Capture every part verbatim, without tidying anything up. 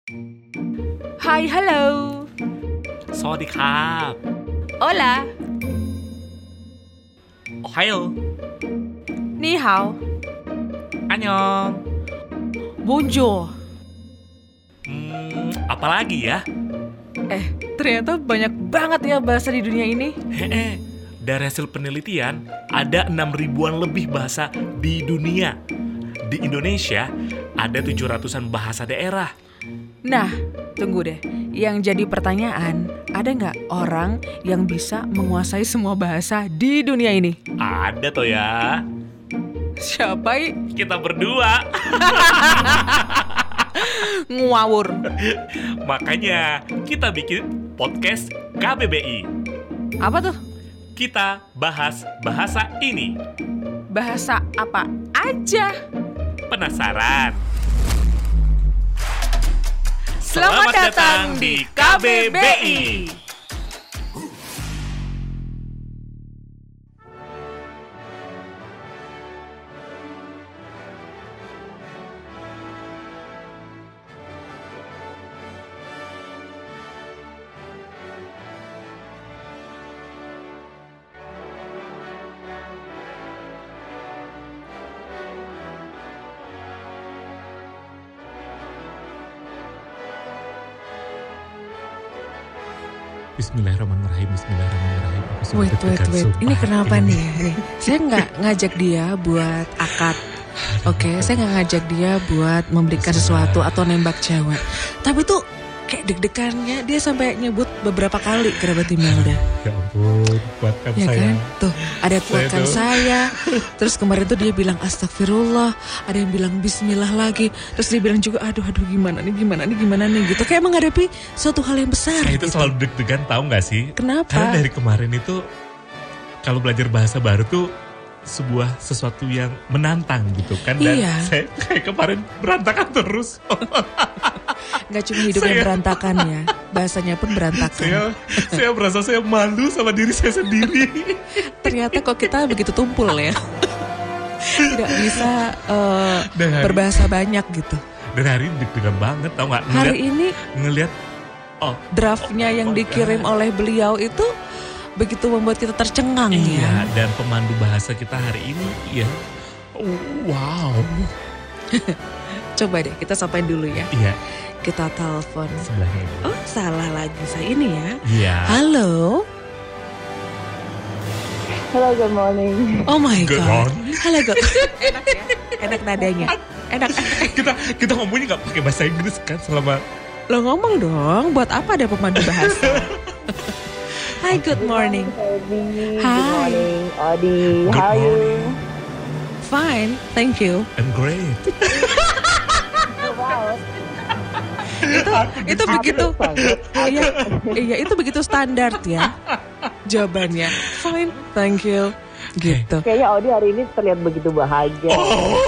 Hai, halo. สวัสดีครับ Hola. โอไฮโอ Ni hao. อันยอง Bonjour. Hmm, apa lagi ya? Eh, ternyata banyak banget ya bahasa di dunia ini. Hehe, dari hasil penelitian ada enam ribuan lebih bahasa di dunia. Di Indonesia ada tujuh ratusan bahasa daerah. Nah, tunggu deh. Yang jadi pertanyaan, ada nggak orang yang bisa menguasai semua bahasa di dunia ini? Ada toh ya. Siapa? I? Kita berdua. Ngawur. Makanya kita bikin podcast K B B I. Apa tuh? Kita bahas bahasa ini. Bahasa apa aja? Penasaran? Selamat datang di K B B I. Bismillahirrahmanirrahim, Bismillahirrahmanirrahim. Wait, wait, wait. Ini kenapa nih? nih? Saya nggak ngajak dia buat akad. Oke, okay, saya nggak ngajak dia buat memberikan sesuatu atau nembak cewek. Tapi tuh kayak deg-degannya dia sampai nyebut beberapa kali kerabat Imelda. Ya ampun, kuatkan ya saya. Kan? Tuh, ada kuatkan saya. saya. Terus kemarin tuh dia bilang astagfirullah, ada yang bilang bismillah lagi. Terus dia bilang juga aduh aduh gimana nih, gimana nih, gimana nih gitu. Kayak menghadapi suatu hal yang besar. Saya itu gitu. selalu deg-degan, tahu nggak sih? Kenapa? Karena dari kemarin itu kalau belajar bahasa baru tuh sebuah sesuatu yang menantang gitu kan. Dan iya. saya kayak kemarin berantakan terus. Gak cuma hidupnya saya, berantakan ya, bahasanya pun berantakan. Saya, saya merasa saya malu sama diri saya sendiri. Ternyata kok kita begitu tumpul ya. Tidak bisa uh, hari, berbahasa banyak gitu. Dan hari ini deg-degan banget, tau gak? Ngeliat, hari ini ngelihat oh, draftnya oh, yang oh, dikirim oh, oleh beliau itu begitu membuat kita tercengang iya, ya. Dan pemandu bahasa kita hari ini ya, oh, wow. Coba deh kita sampaikan dulu ya. Iya. Kita telepon. Sebelahnya ini. Oh salah lagi saya ini ya. Iya. Halo. Hello, good morning. Oh my good god. Morning. Halo good. Enak ya. Enak nadanya. Enak. kita kita ngomongnya nggak pakai bahasa Inggris kan selama. Lo ngomong dong. Buat apa ada pemandu bahasa? Hi, good morning. Good Hi. morning, Odi. Good How are you? morning. Fine, thank you. I'm great. Wow. itu itu begitu iya iya itu begitu standar ya jawabannya. Fine, thank you. Gitu. Kayaknya Odi hari ini terlihat begitu bahagia. Oh.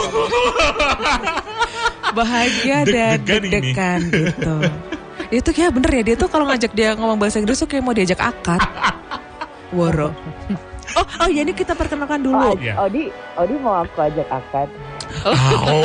Bahagia dan deg-degan gitu. Itu kayak bener ya, dia tuh kalau ngajak dia ngomong bahasa Inggris tuh kayak mau diajak akad. Woro. Oh, oh ya ini kita perkenalkan dulu. Oh, Odi, Odi mau aku ajak akad. Oh.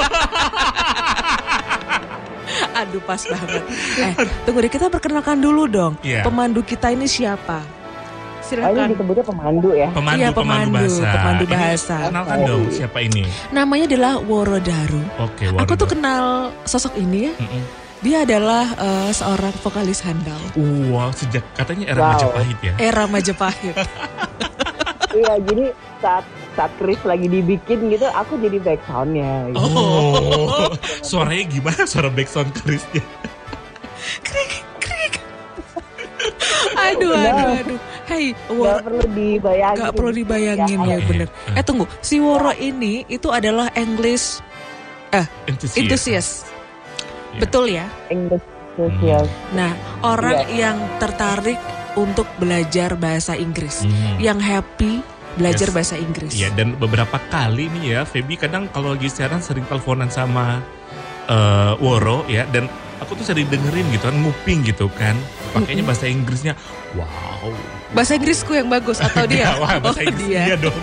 Aduh pas banget. Eh, tunggu deh kita perkenalkan dulu dong. Yeah. Pemandu kita ini siapa? Silakan. Oh, ini disebutnya pemandu ya? Pemandu, iya, pemandu, pemandu bahasa. Pemandu bahasa. Ini, kenalkan oh. dong siapa ini? Namanya adalah Woro Daru. Oke, Woro. Aku tuh kenal sosok ini ya. Mm-mm. Dia adalah uh, seorang vokalis handal. Wow, sejak katanya era wow. Majapahit ya? Era Majapahit. Iya, jadi saat saat Chris lagi dibikin gitu, aku jadi back soundnya. Gitu. Oh, suaranya gimana? Suara back sound Chrisnya? Krik, krik. Aduh, aduh, aduh. Hey, Woro. Gak perlu dibayangin. Gak perlu dibayangin ya, ya bener. Eh tunggu, si Woro ini itu adalah English eh enthusiast. enthusiast. Yeah. Betul ya? English enthusiast. Hmm. Nah, orang yeah. yang tertarik untuk belajar bahasa Inggris, hmm. yang happy belajar yes. bahasa Inggris. Iya, dan beberapa kali nih ya, Feby kadang kalau lagi siaran sering teleponan sama uh, Woro ya, dan aku tuh sering dengerin gitu kan, nguping gitu kan, pakainya bahasa Inggrisnya, wow. Bahasa Inggrisku yang bagus atau dia? Wah, bahasa oh, Inggris dia. dia dong.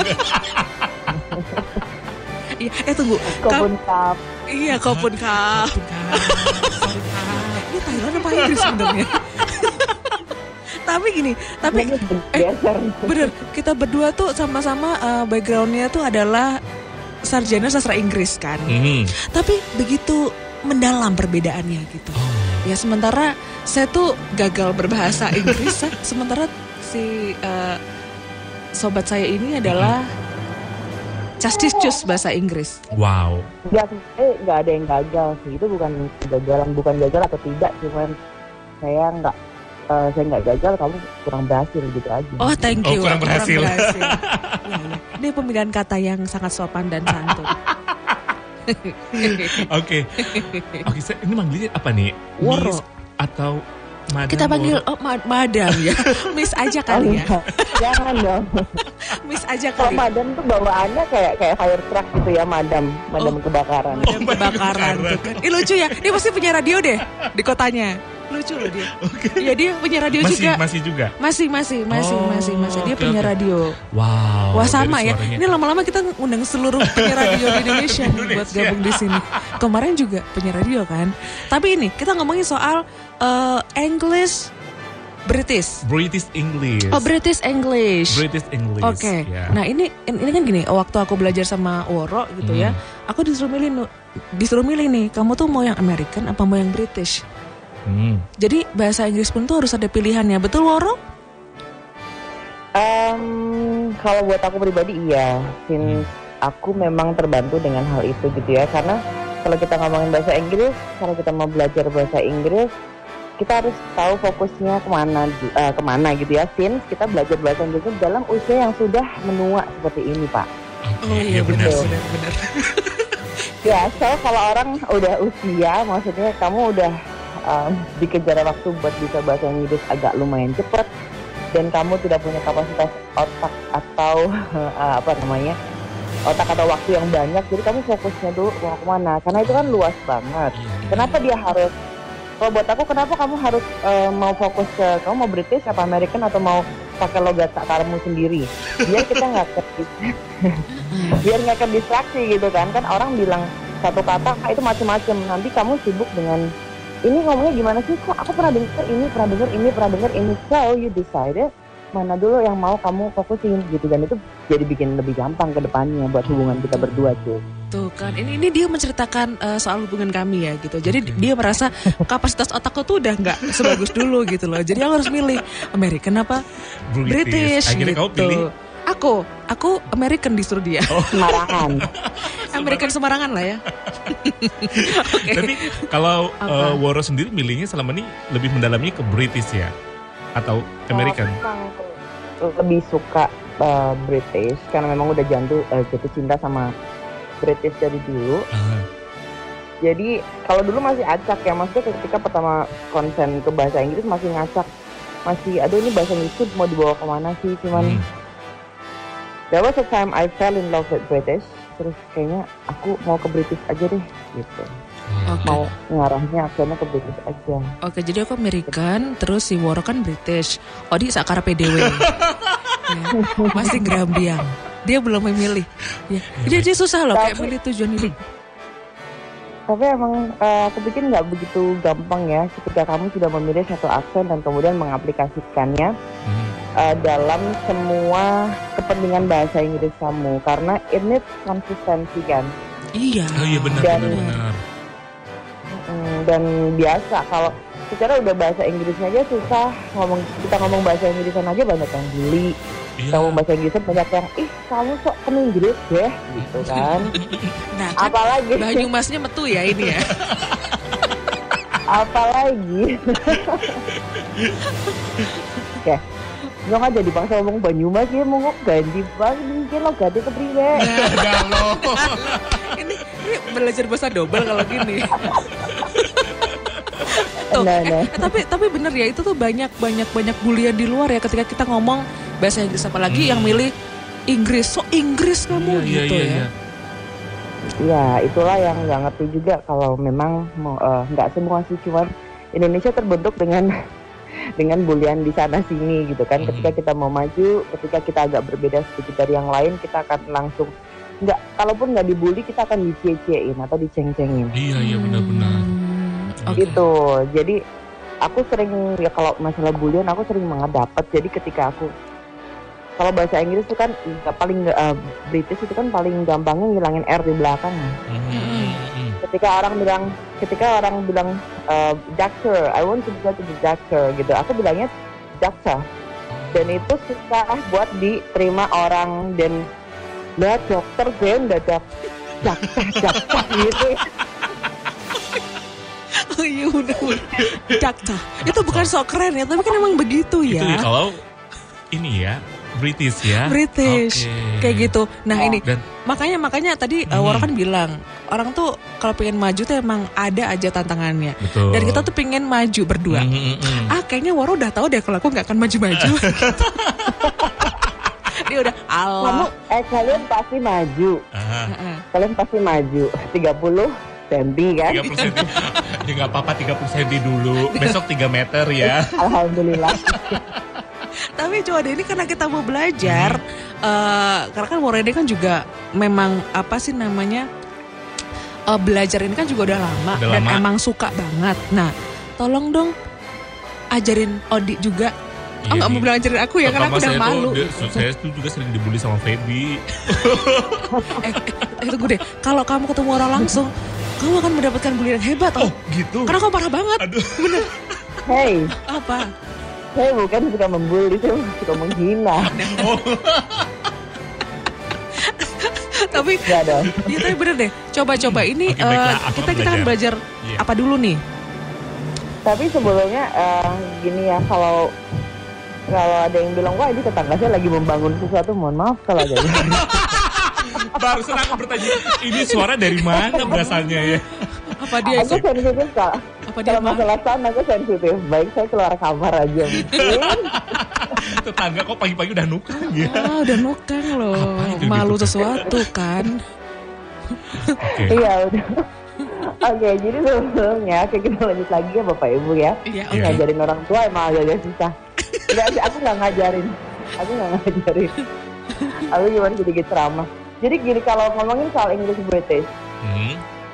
Iya, eh tunggu. Kopun kap. Iya, kopun kap. ini Thailand apa Inggris sebenarnya? Tapi gini, tapi eh, bener kita berdua tuh sama-sama uh, backgroundnya tuh adalah sarjana sastra Inggris kan. Hmm. Tapi begitu mendalam perbedaannya gitu. Oh. Ya sementara saya tuh gagal berbahasa Inggris, sementara si uh, sobat saya ini adalah castis-cus bahasa Inggris. Wow. Enggak, eh, enggak ada yang gagal sih. Itu bukan kegagalan, bukan gagal atau tidak, cuman saya enggak Uh, saya nggak gagal, kamu kurang berhasil gitu aja. Oh, thank you. Oh, kurang berhasil. Kurang berhasil. Ya, ya. Ini pemilihan kata yang sangat sopan dan santun. Oke, oke. Ini manggilnya apa nih? Woro Miss atau Madam? Kita panggil oh, ma- Madam ya. Miss aja kali ya. Jangan dong. Miss aja Kalau kali. Madam tuh bawaannya kayak kayak fire truck gitu ya, Madam, Madam Oh. kebakaran. Madam Oh, kebakaran kebakaran. tuh kan. Ih lucu ya. Dia pasti punya radio deh di kotanya. Lucu loh dia. Oke. Iya dia punya radio Masih, juga. masih juga. Masih masih masih Oh, masih masih dia oke, punya oke. radio. Wow. Wah dari sama ya. suaranya. Ini lama-lama kita undang seluruh penyiar radio di Indonesia nih buat Indonesia. gabung di sini. Kemarin juga penyiar radio kan. Tapi ini kita ngomongin soal uh, English British. British English. Oh British English. British English. Oke. ya. Nah ini ini kan gini. Waktu aku belajar sama Woro gitu ya, Hmm. aku disuruh milih, disuruh milih nih. Kamu tuh mau yang American apa mau yang British? Hmm. Jadi bahasa Inggris pun tuh harus ada pilihannya. Betul Woro? Um, kalau buat aku pribadi iya, since aku memang terbantu dengan hal itu gitu ya. Karena kalau kita ngomongin bahasa Inggris, kalau kita mau belajar bahasa Inggris, kita harus tahu fokusnya kemana, uh, kemana gitu ya. Since kita belajar bahasa Inggris dalam usia yang sudah menua seperti ini, Pak. Oke, iya benar sih. benar. Ya, so kalau orang udah usia, maksudnya kamu udah um, dikejar waktu buat bisa bahasa Inggris agak lumayan cepat, dan kamu tidak punya kapasitas otak atau uh, apa namanya otak atau waktu yang banyak, jadi kamu fokusnya dulu mau kemana, karena itu kan luas banget. Iya, iya. Kenapa dia harus, kalau buat aku kenapa kamu harus uh, mau fokus ke, kamu mau British apa American atau mau pakai logat sakarmu sendiri, biar kita nggak ter- biar nggak terdistraksi gitu kan. Kan orang bilang satu kata ah, itu macam-macam, nanti kamu sibuk dengan ini ngomongnya gimana sih, kok aku pernah dengar ini, pernah dengar ini, pernah dengar ini. So you decided mana dulu yang mau kamu fokusin gitu, dan itu jadi bikin lebih gampang ke depannya buat hubungan kita berdua tuh. Tuh kan, ini ini dia menceritakan uh, soal hubungan kami ya gitu. Jadi Oke. dia merasa kapasitas otakku tuh udah nggak sebagus dulu gitu loh. Jadi aku harus milih American apa British, Akhirnya gitu. kamu pilih. Aku, aku American disuruh dia. Oh. Sembarangan. American Semarangan lah ya. Oke. Tapi kalau Apa? uh, Woro sendiri milihnya selama ini lebih mendalami ke British ya? Atau American? Memang lebih suka uh, British karena memang udah jatuh uh, jatuh cinta sama British dari dulu. Ah, Jadi kalau dulu masih acak ya, maksudnya ketika pertama konsen ke bahasa Inggris masih ngacak, masih aduh ini bahasa Inggris tuh mau dibawa kemana sih, cuman hmm. there was a time I fell in love with British, terus kayaknya aku mau ke British aja deh gitu, Oke. mau ngarahnya akhirnya ke British aja. Oke, jadi aku American, terus si Woro kan British. Odi sakara P D W. Ya, masih gerambiang. Dia belum memilih. Ya. Jadi dia susah loh kayak Tapi- milih tujuan hidup. Tapi emang uh, aku pikir nggak begitu gampang ya ketika kamu sudah memilih satu aksen dan kemudian mengaplikasikannya Hmm. uh, dalam semua kepentingan bahasa Inggris kamu, karena it needs konsistensi kan. Iya. Oh iya benar Dan- benar benar. Hmm, dan biasa kalau secara udah bahasa Inggrisnya aja susah, ngomong kita ngomong bahasa Inggrisan aja banyak yang bully. Iya. Kamu bahasa Inggrisan banyak yang ih kamu sok ke Inggris deh gitu kan. Nah, kan Apalagi Banyumasnya metu ya ini ya. apalagi. Oke. Nyok aja dipaksa ngomong Banyumas ya, mau ganti bang mungkin lo ganti ke priwe. Galau. ini, ini belajar bahasa double kalau gini. Tuh, Nah, eh, nah. eh, tapi tapi bener ya, itu tuh banyak banyak banyak bulian di luar ya ketika kita ngomong bahasa Inggris, apalagi Hmm. yang milih Inggris. So Inggris kamu Iya, gitu iya, ya. iya. Ya itulah yang nggak ngerti juga kalau memang mau eh, nggak semua sih, cuman Indonesia terbentuk dengan dengan bulian di sana sini gitu kan. Mhm. Ketika kita mau maju, ketika kita agak berbeda sedikit dari yang lain, kita akan langsung nggak, kalaupun nggak dibully kita akan dicie-ciein atau diceng-cengin. Iya iya benar-benar. Hmm, Okay. Gitu. Jadi aku sering ya kalau masalah bulian aku sering banget dapet. Jadi ketika aku kalau bahasa Inggris itu kan nggak paling uh, British itu kan paling gampangnya ngilangin R di belakang. Mm-hmm. Ketika orang bilang, ketika orang bilang uh, doctor, I want to go to the doctor gitu, aku bilangnya doctor. Dan itu susah buat diterima orang dan lihat dokter gue udah dokter, dokter, dokter gitu. Oh iya udah udah. Dakta. Itu bukan sok keren ya, tapi kan emang begitu ya. Itu ya kalau ini ya. British ya, British, okay. kayak gitu. Nah ya. ini Dan, makanya makanya tadi hmm. uh, Waro kan bilang orang tuh kalau pengen maju tuh emang ada aja tantangannya. Betul. Dan kita tuh pengen maju berdua. Hmm, hmm, hmm. Ah kayaknya Waro udah tahu deh kalau aku nggak akan maju-maju. Dia udah Allah. Kamu, eh kalian pasti maju. Uh-huh. Kalian pasti maju. tiga puluh senti kan? tiga puluh senti. Ya nggak apa-apa tiga puluh senti dulu. Besok tiga meter ya. Alhamdulillah. Tapi coba deh ini karena kita mau belajar, hmm. uh, karena kan Waro ini kan juga memang apa sih namanya uh, belajar ini kan juga udah lama udah dan lama. emang suka banget. Nah, tolong dong ajarin Odi juga. Iya, Oh nggak mau iya. bilang ajarin aku ya karena aku udah saya malu. Tuh, dia, saya tuh juga sering dibully sama Feby. eh, eh, tunggu deh, kalau kamu ketemu orang langsung, kamu akan mendapatkan bulian hebat. Oh gitu. Karena kamu parah banget. Aduh. Bener. Hey, Apa? saya bukan suka membuli, saya suka menghina. Oh. Tapi Gak dong. ya tapi bener deh. Coba-coba ini Oke, baiklah, uh, aku kita kan kita kan belajar Iya. apa dulu nih? Tapi sebelumnya uh, gini ya, kalau kalau ada yang bilang wah ini tetangga saya lagi membangun sesuatu, mohon maaf kalau ada. Barusan aku bertanya, ini suara dari mana berasalnya ya? Apa dia Aku sensitif kak. apa dia Kalau mah? masalah sound aku sensitif. Baik saya keluar kamar aja mungkin. Tetangga kok pagi-pagi udah nukang ya? Ah, udah nukang loh. Apa itu Malu gitu? sesuatu kan. Oke. Iya udah. Oke, jadi sebelumnya oke, kita lanjut lagi ya Bapak Ibu ya. Iya, Iya. Ngajarin orang tua emang agak susah. Enggak sih, aku nggak ngajarin. Aku nggak ngajarin. Aku cuma sedikit ceramah. Jadi gini, kalau ngomongin soal English British, Hmm.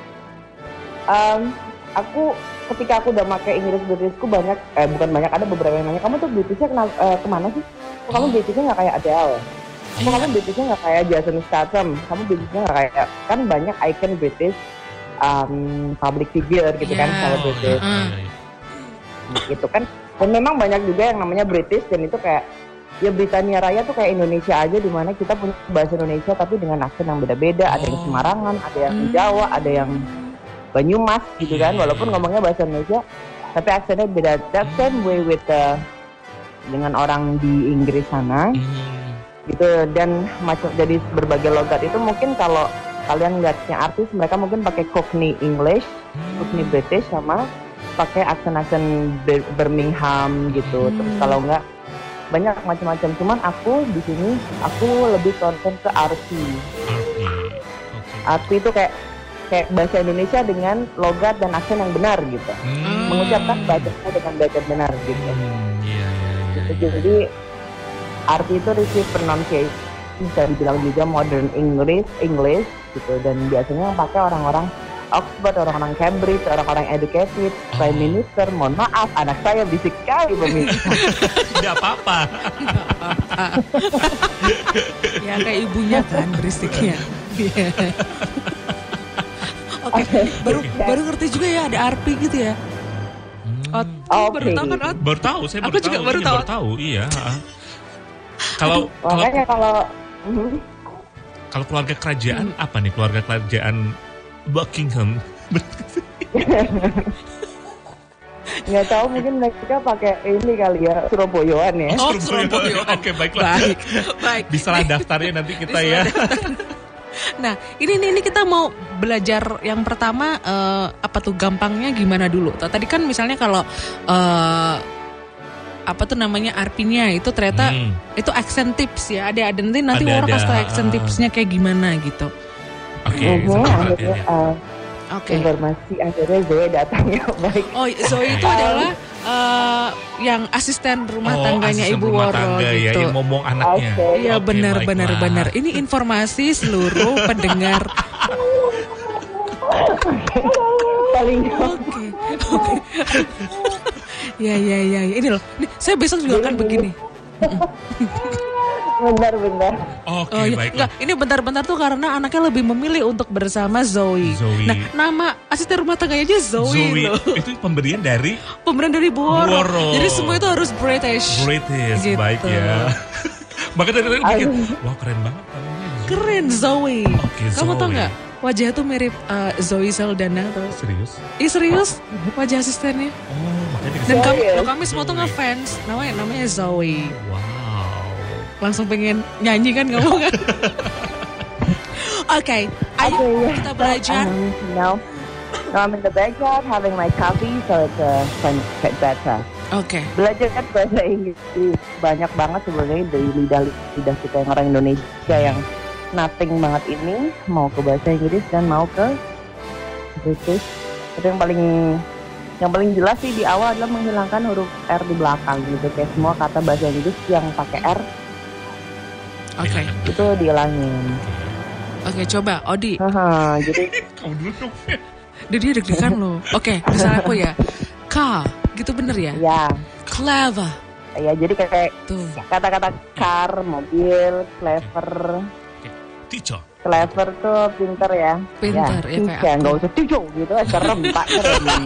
um, aku ketika aku udah pakai Inggris Britishku banyak, eh bukan banyak, ada beberapa yang nanya, kamu tuh Britishnya kena, eh, kemana sih? Kok kamu Britishnya nggak kayak Adele? Kok kamu Britishnya nggak kayak Jason Statham? Kamu Britishnya nggak kayak, kan banyak icon British um, public figure gitu kan, Iya. kalau British. Oh, iya, iya. Gitu kan. Dan memang banyak juga yang namanya British dan itu kayak ya Britania Raya tuh kayak Indonesia aja, di mana kita punya bahasa Indonesia tapi dengan aksen yang beda-beda. Ada yang Oh. Semarangan, ada yang Hmm. Jawa, ada yang Banyumas gitu kan. Iya, Walaupun iya. ngomongnya bahasa Indonesia tapi aksennya beda. That same way with the, dengan orang di Inggris sana Hmm. gitu. Dan macam jadi berbagai logat itu mungkin kalau kalian lihatnya artis mereka mungkin pakai Cockney English, Cockney British sama pakai aksen-aksen Bir- Birmingham gitu. Hmm. Terus kalau enggak banyak macam-macam. Cuman aku di sini aku lebih concern ke arti. Oke. Oke. Arti itu kayak kayak bahasa Indonesia dengan logat dan aksen yang benar gitu. Hmm. Mengucapkan bacanya dengan baca benar gitu. Hmm, iya, iya, iya, Gitu. iya. Jadi arti itu receive pronunciation, bisa dibilang juga modern English, English gitu. Dan biasanya yang pakai orang-orang Oxford, orang-orang Cambridge, orang-orang educated, Prime Minister. Mohon maaf, anak saya bisik sekali pemirsa. Tidak apa-apa. Ya kayak ibunya kan berisiknya. Iya. Oke, baru baru ngerti juga ya ada arpi gitu ya. Ot, Hmm. Oke. baru tahu kan Ot? Baru tahu, saya Aku baru juga tahu. baru ini tahu. Baru tahu, iya. Kalau kalau Makanya kalau Mhm. kalau keluarga kerajaan apa nih? Keluarga kerajaan Buckingham. nggak tahu mungkin mereka pakai ini kali ya, Surabayaan ya. Oh, Surabaya. Surabaya. Oke, baiklah. Baik, baik. Bisalah daftarnya nanti kita Bisa ya. Nah, ini ini, ini kita mau belajar yang pertama eh, apa tuh gampangnya gimana dulu? Tadi kan misalnya kalau eh, apa tuh namanya arpinya itu ternyata Hmm. itu action tips ya. Ada ada nanti nanti Ada, orang ada. kasih tau action Ah. tipsnya kayak gimana gitu. Oke, Mhm, sama akhirnya perhatian ya. uh, Oke. informasi akhirnya Zoe datang ya baik. Oh, Zoe itu adalah eh, yang asisten rumah Oh, tangganya asisten Ibu rumah Woro tangga ya, gitu. yang ngomong anaknya. Oke. Iya Oke, benar baiklah. benar benar. Ini informasi seluruh pendengar. Paling Oke. Ya ya ya, ya. Ini loh. Nih, saya besok juga akan begini. Benar-benar. Oke, Oh iya, baiklah. enggak, ini bentar-bentar tuh karena anaknya lebih memilih untuk bersama Zoe. Zoe. Nah, nama asisten rumah tangganya aja Zoe, Zoe loh. itu pemberian dari Pemberian dari Boro. Boro. Jadi semua itu harus British. British, Gitu. baik ya. Maka dari tadi pikir, Aduh. wah keren banget namanya Zoe. Keren Zoe. Oke, Kamu tau Zoe. nggak? Wajah tuh mirip uh, Zoe Saldana tuh. Serius? Ih serius? Wajah asistennya. Oh, makanya Dan dikasih. kami, Serius? loh, kami semua tuh Zoe. ngefans. Namanya namanya Zoe. Wow. Langsung pengen nyanyi kan kamu kan? Oke, ayo Okay, yeah. kita belajar. Um, no. No, I'm in the backyard having my coffee, so it's uh, fun, get better. Oke. Belajar kan bahasa Inggris banyak banget sebenarnya dari lidah-lidah kita yang orang Indonesia yang nothing banget ini mau ke bahasa Inggris dan mau ke British. Tapi yang paling yang paling jelas sih di awal adalah menghilangkan huruf R di belakang gitu. Kayak semua kata bahasa Inggris yang pakai R Oke. itu dihilangin. Oke, coba Odi. Haha, jadi Kamu dulu dong. Dia dia deg-degan loh. Oke, misalnya aku ya. Car, gitu bener ya? ya, Clever. ya jadi kayak Tuh. kata-kata car, mobil, clever. Teacher. Clever tuh pinter ya. Pinter, ya, kayak ya, aku. nggak usah tijo gitu, serem tak serem.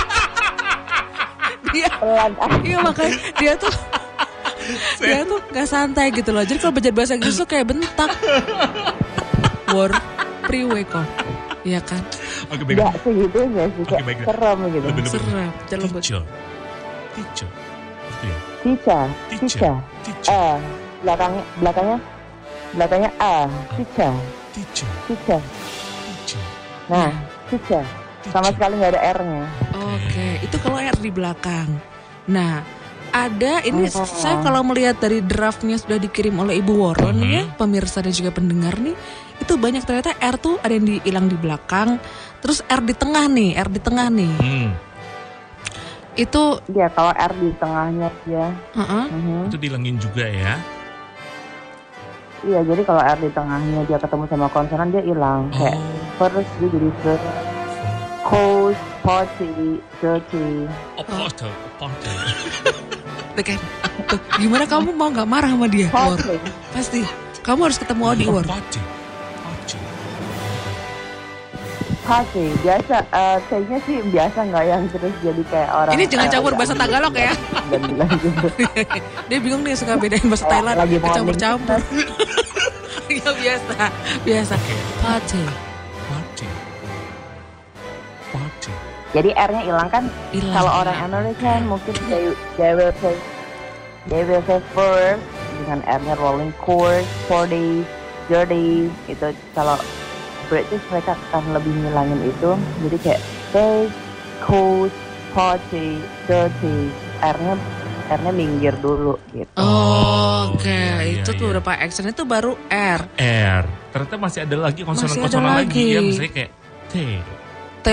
Dia, Pelan. iya makanya dia tuh dia tuh gak santai gitu loh. Jadi kalau belajar bahasa Inggris tuh kayak bentak. War, priwe kok. Iya kan? Oke, baik. Nggak segitunya sih, Oke, kayak baik. serem gitu. Lebih- lebih. Serem. Jangan lembut. Teacher. Teacher. Gitu ya. Cica, Teacher. cica, Teacher. eh belakangnya belakangnya belakangnya A, cica, Teacher. cica. Teacher. Nah, cica. Sama sekali nggak ada R-nya. Oke, itu kalau R di belakang. Nah, ada ini Oh. saya kalau melihat dari draftnya sudah dikirim oleh Ibu Woro nih ya, Mhm. pemirsa dan juga pendengar nih, itu banyak ternyata R tuh ada yang hilang di belakang, terus R di tengah nih, R di tengah nih. Hmm. Itu, Dia kalau R di tengahnya dia. uh-uh, Mhm. Itu dihilangin juga ya. Iya, jadi kalau R di tengahnya dia ketemu sama konsonan dia hilang. Kayak Oh. first dia jadi first, cold, party, dirty. Oh, portal. Portal. tuh kan, tuh, gimana kamu mau nggak marah sama dia, Wor? Party. Pasti, kamu harus ketemu Odi, Wor. Party. Party. Party. Biasa, eh kayaknya sih biasa nggak yang terus jadi kayak orang. Ini jangan eh, campur agak bahasa Tagalog ya. Dan bilang gitu. Dia bingung nih suka bedain bahasa Kayak Thailand, lagi morning campur-campur. Ya biasa, biasa. Oke. Party, Party. Party. Jadi R-nya hilang kan? hilang. Kalau orang American mungkin they, they will say they will say first dengan R-nya rolling course, four days, dirty. Itu kalau British mereka akan lebih ngilangin itu. Jadi kayak day, cold, party, dirty. R-nya R-nya minggir dulu gitu. Oh, Oke, iya, iya, itu tuh iya. beberapa action itu baru R, R. Ternyata masih ada lagi konsonan-konsonan Masih ada lagi. lagi. Ya, misalnya kayak T. T.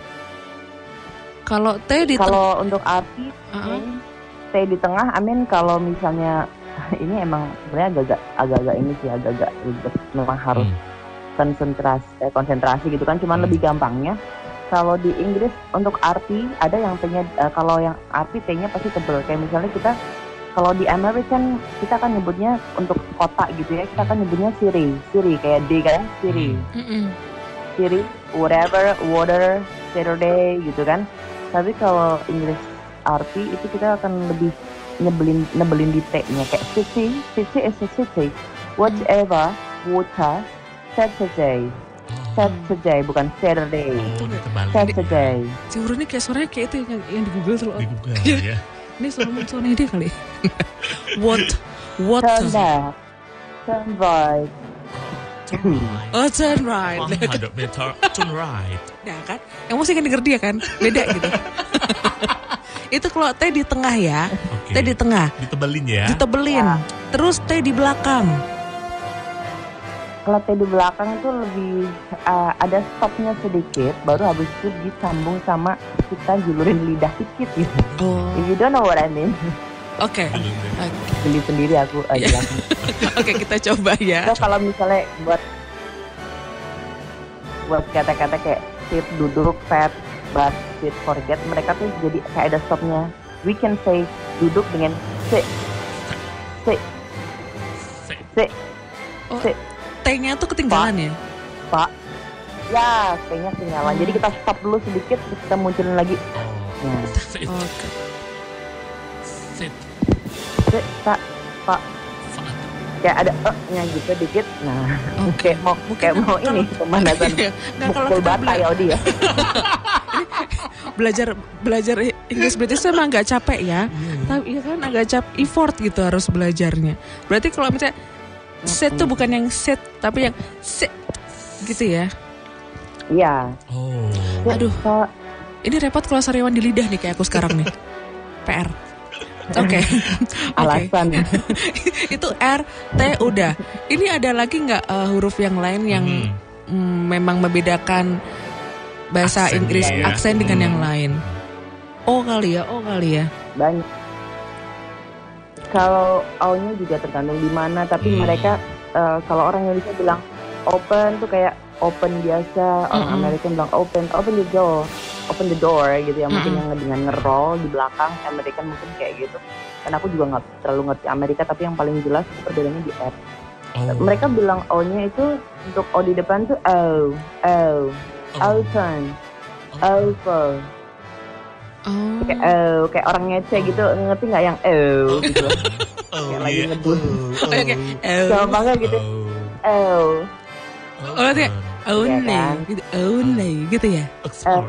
Kalau T di tengah, Kalau untuk arti uh-uh. T di tengah, amin kalau misalnya ini emang sebenarnya agak-agak agak-agak ini sih agak-agak ribet. Memang harus Hmm. konsentrasi eh, konsentrasi gitu kan. Cuman Hmm. lebih gampangnya kalau di Inggris untuk arti ada yang T-nya eh, kalau yang arti T-nya pasti tebel. Kayak misalnya kita kalau di American kita kan nyebutnya untuk kota gitu ya, kita kan nyebutnya Siri, Siri kayak D kan, Siri, Hmm. Mm-mm. Siri, whatever, water, Saturday gitu kan. Tapi kalau Inggris arti itu kita akan lebih nyebelin nyebelin di T-nya kayak city, city is a city, whatever, water, Saturday, Oh, Saturday bukan Saturday, oh ditebalik Saturday. Si Huru ini kayak suaranya kayak itu yang, yang di Google tuh loh. di Google ya. Ini suara suara dia kali. What? What? Turn left, turn right. Turn right. Oh, turn right. one hundred meter turn right. Ya kan? Yang mesti kan denger dia kan? Beda gitu. Itu kalau T di tengah ya. Oke. T di tengah. Ditebelin ya. Ditebelin. Ya. Terus T di belakang. Kalau T di belakang itu lebih uh, ada stopnya sedikit, baru habis itu disambung sama kita julurin lidah dikit gitu. Oh. If you don't know what I mean, Oke. Dulu. Oke. geli sendiri aku uh, Iya. jelasin. Oke, kita coba ya. So kalau misalnya buat buat kata-kata kayak sit, duduk, fat, but with forget mereka tuh jadi kayak ada stopnya. We can say duduk dengan sit, sit, Sit. sit, Oh, sit, T-nya tuh ketinggalan ya? pak. Ya, kayaknya ketinggalan. Jadi kita stop dulu sedikit, terus kita munculin lagi. Oh. Ya. Sit. Oke. Sit. Sit, pak, pak. Fat. Kayak ada e-nya gitu dikit. Nah, Oke. kayak mau Mungkin kayak mau kalau- ini pemanasan Nggak, kalau mukul kita bata bela- ya Odi ya. belajar belajar Inggris British emang agak capek ya. Tapi ya kan agak capek, effort gitu harus belajarnya. Berarti kalau misalnya sit tuh bukan yang sit, tapi yang sit gitu ya. Iya. Oh. Sit, Aduh. Pak. Ini repot kalau sariawan di lidah nih kayak aku sekarang nih. P R. Oke. Oke. Alasan. Itu R, T udah. Ini ada lagi nggak uh, huruf yang lain yang Hmm. mm, memang membedakan bahasa Aksen Inggris ya. aksen dengan Hmm. yang lain? O kali ya, O kali ya. Banyak. Kalau O-nya juga tergantung di mana, tapi Hmm. mereka eh, kalau orang Indonesia bilang open tuh kayak open biasa, orang Mm-mm. Amerika bilang open, open the door, open the door gitu ya. Mungkin Mm-mm. yang dengan nge-roll di belakang, Amerika mungkin kayak gitu. Dan aku juga nggak terlalu ngerti Amerika, tapi yang paling jelas itu perbedaannya di R. Oh. Mereka bilang O-nya itu untuk O di depan tuh O, O, Oh. open, Oh. over. Oh. Kayak oh, kayak orang ngece gitu, ngerti nggak yang oh gitu loh. Oh, Kayak lagi iya. ngebut. Oh, Oke, oke. oh. Oh. Gampang kan gitu. Oh. Oh, Oh, berarti only, kan? gitu, only, gitu ya. Oxford.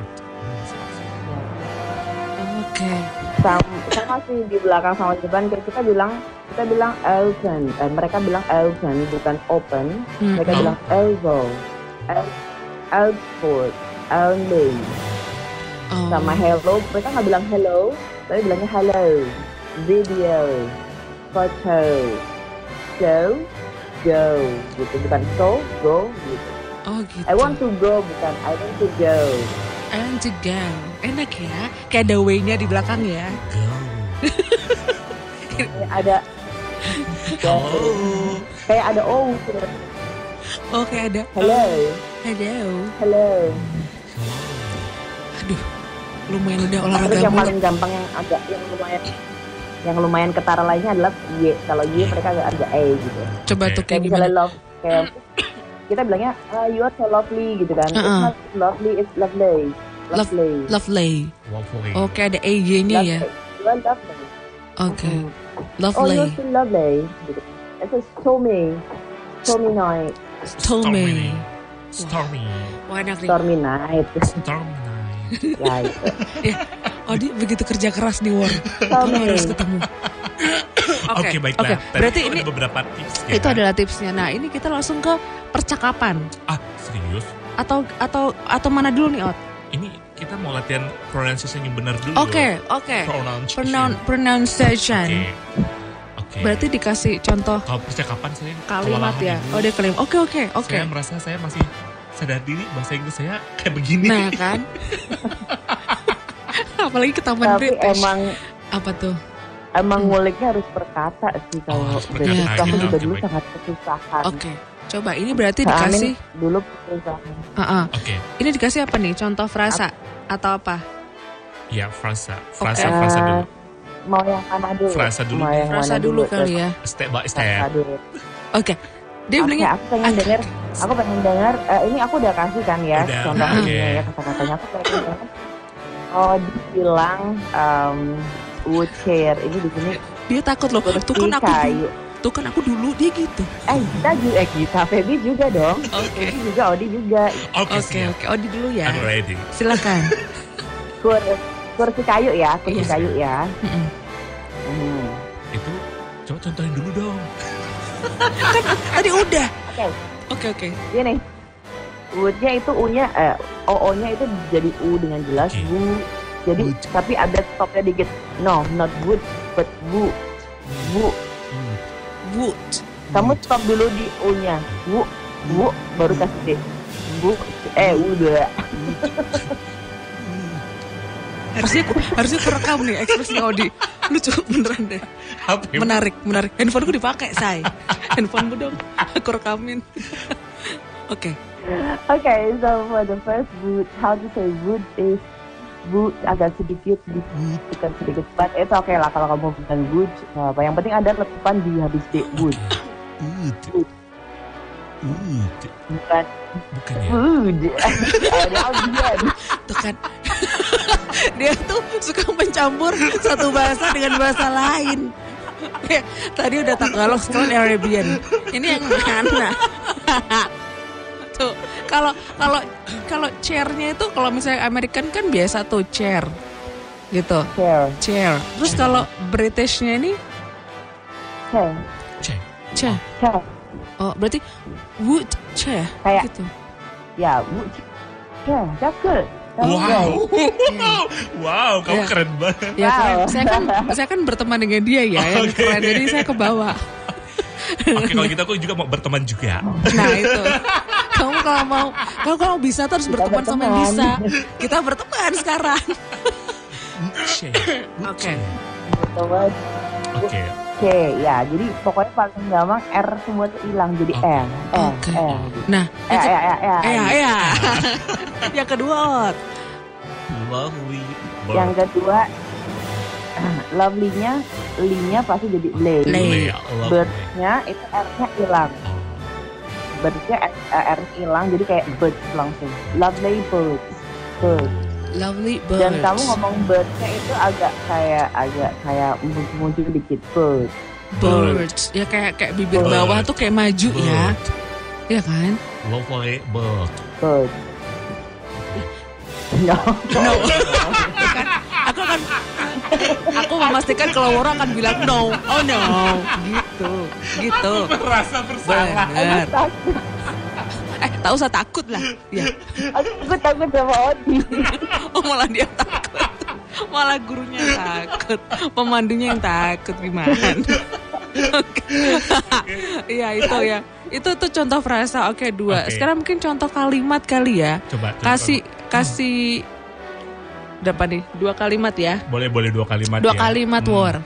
Oke. sama, sama sih di belakang sama di depan kayak kita bilang kita bilang open, eh, mereka bilang open bukan open, Hmm. mereka Oh. bilang elbow, out, output, only. Oh. Sama hello, mereka nggak bilang hello, tapi bilangnya hello, video, foto, show, go, gitu bukan so, go, gitu. Oh gitu. I want to go bukan I want to go. I want to go. Enak ya. Kayak ada W-nya di belakang ya. Go. Kayak ada Oh. kayak ada oh, gitu. Oh kayak ada. Hello, Hello. hello. Aduh. Lumayan udah Terus olahraga yang mulu. paling gampang yang agak yang lumayan yang lumayan ketara lainnya adalah Y. Kalau Y mereka agak ada E gitu. Coba Oke. tuh Kayak kayak misalnya gimana? love kayak kita bilangnya ah, you are so lovely gitu kan. Uh-uh. It's not lovely, it's lovely. Love- Lovely. Lovely. Waffle. Oke ada E Y-nya ya. Lovely. You are lovely. Oke. Mm. Oh, Lovely. you're so lovely. Gitu. It's a stormy, stormy night, Stormy. Stormy. Wah enak nih. stormy night. Stormy night. Ya itu. Oh dia begitu kerja keras di War. Stormy. Kamu harus ketemu. Oke, baiklah. Oke. Tadi Berarti itu ini ada beberapa tips ya. itu adalah tipsnya. Nah ini kita langsung ke percakapan. Ah, serius? Atau atau atau mana dulu nih Ot? Ini kita mau latihan pronunciation yang benar dulu. Oke oke. Pronunciation. Pronoun pronunciation. Oke. Oke. Berarti dikasih contoh kalau percakapan saya kalimat kewalahan ya. dulu. Oh dia kalimat. Oke oke oke. Saya merasa saya masih sadar diri bahasa Inggris saya kayak begini. Nah kan. Apalagi ke Taman Tapi British. emang Apa tuh? emang Hmm. nguliknya harus perkata sih Oh, kalau harus British. perkata, Aku gitu. juga Oke, dulu baik. sangat kesusahan. Oke. Coba ini berarti Kak Amin dikasih. dulu kesusahan. Uh-uh. Oke. Ini dikasih apa nih? Contoh frasa atau apa? Ya, frasa. Frasa, Oke. frasa Eh, dulu. Mau yang mana dulu? Frasa dulu. Mau yang Frasa mana dulu kali ya. Step by Frasa step. dulu. Oke. Dia Oke, bilangnya aku pengen denger, aku pengen denger, eh, ini aku udah kasih kan ya, Udah, contohnya oke. ya kata-katanya aku pengen denger. Oh, dibilang um, wood chair, ini di sini dia takut loh. Tuh kan aku dulu. kayu. Tuh kan aku dulu dia gitu. Eh, kita juga, eh kita, Feby juga dong. Oke. Feby juga, Odi juga. Oke, Oke siap. oke. Odi dulu ya. I'm ready. Silakan. Kur, kursi kayu ya, kursi Iya. kayu ya. Mm-mm. Hmm. Itu coba contohin dulu dong. Tadi udah. Oke, Oke oke. gini. Woodnya itu U-nya, eh, O O-nya itu jadi U dengan jelas, Oke. Bu. Jadi, Wood. tapi ada stopnya dikit. No, not wood, but Bu. Bu. Hmm. Wood. Kamu stop dulu di U-nya. Bu, bu, baru kasih D. Bu, eh udah. Harusnya harusnya kerekam nih ekspresinya Odi. Lucu beneran deh. Apa ya? Menarik, menarik. Handphoneku dipakai, say. Handphonemu dong. Aku rekamin. Oke. Okay, so for the first wood, how to say wood is would agak sedikit sedikit sedikit. But itu oke lah kalau kamu bilang would. Nah, apa yang penting ada letupan di habis D. Would. Would. Would. Bukan. Bukan ya? Would. Ada Tuh kan. Dia tuh suka mencampur satu bahasa dengan bahasa lain. Ya, tadi udah Tagalog, sekarang Arabian. Ini yang mana? Tuh, kalau kalau kalau chair-nya itu kalau misalnya American kan biasa tuh chair. Gitu. Chair. Chair. Terus kalau British-nya ini Chair. Chair. chair. Chair. Oh, berarti wood chair Kayak- gitu. Ya, would. Chair. Cakep. Wow. Wow, kamu Ya. keren banget. Ya keren. Wow. Saya kan saya kan berteman dengan dia ya, yang Oke. keren. Jadi saya kebawa. Oke, kalau gitu aku juga mau berteman juga. Nah itu. Kamu kalau mau, kalau kamu bisa terus Kita berteman sama yang berteman. bisa. Kita berteman sekarang. Chair. Oke. Gitu kan. Oke. Oke, ya. Jadi pokoknya paling gampang R semua tuh hilang jadi Oke. R. R. Oke. R. Nah, Eh, yang ke- eh, eh, eh. eh, ya, ya. Yang kedua, Ot. Lovely bird. Yang kedua, lovely-nya, li-nya pasti jadi lay. Lay. Lovely. Bird-nya itu R-nya hilang. Oh. Bird-nya R hilang jadi kayak birds langsung. Lovely birds. Birds. Lovely birds. Dan kamu ngomong bird-nya itu agak kayak agak kayak muncul dikit bird. birds. Ya kayak kayak bibir Bird. bawah tuh kayak maju ya. Bird. Iya kan? Lovely bird. Bird. No. No. Kan, aku akan aku memastikan kalau orang akan bilang no. Oh no. Gitu. Gitu. Merasa bersalah. Benar. Eh, tak usah takut lah. Ya. Aku takut sama Odi. Oh, malah dia takut. Malah gurunya yang takut. Pemandunya yang takut gimana? Oke. Iya, itu ya. Itu tuh contoh frasa. Oke, dua. Oke. Sekarang mungkin contoh kalimat kali ya. Coba. coba. Kasih kasih berapa nih? Dua kalimat ya. Boleh boleh dua kalimat Dua ya. kalimat Hmm. war.